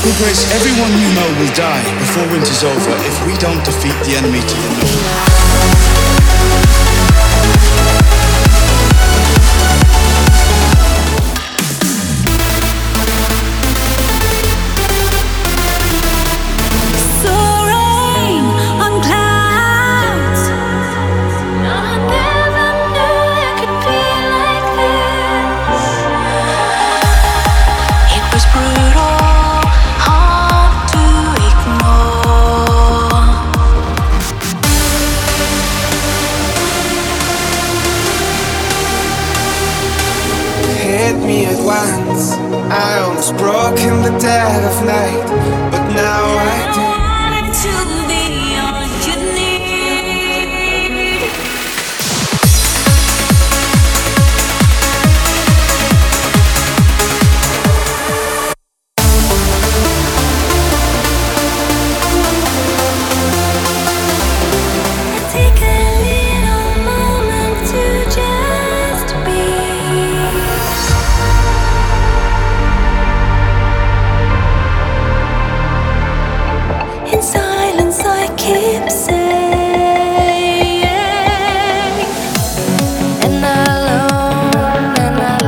Your Grace, everyone you know will die before winter's over if we don't defeat the enemy to the north. Me at once, I almost broke in the dead of night, but now I do. To be all you need. Take a little moment to just be. In silence I keep saying, and alone,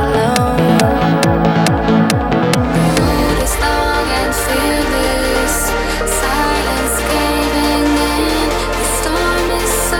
hold as long and feel this silence caving in. The storm is so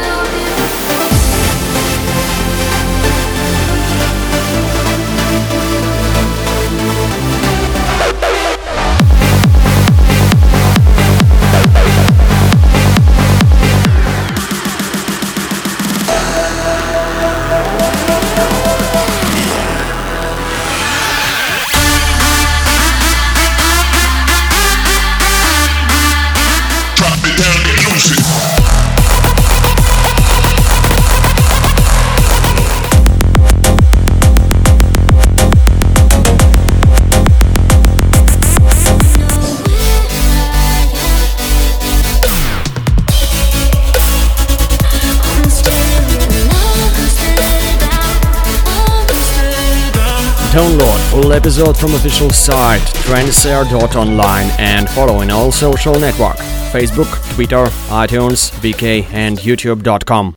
Download full episode from official site trendseer.online and follow in all social network: Facebook, Twitter, iTunes, VK and YouTube.com.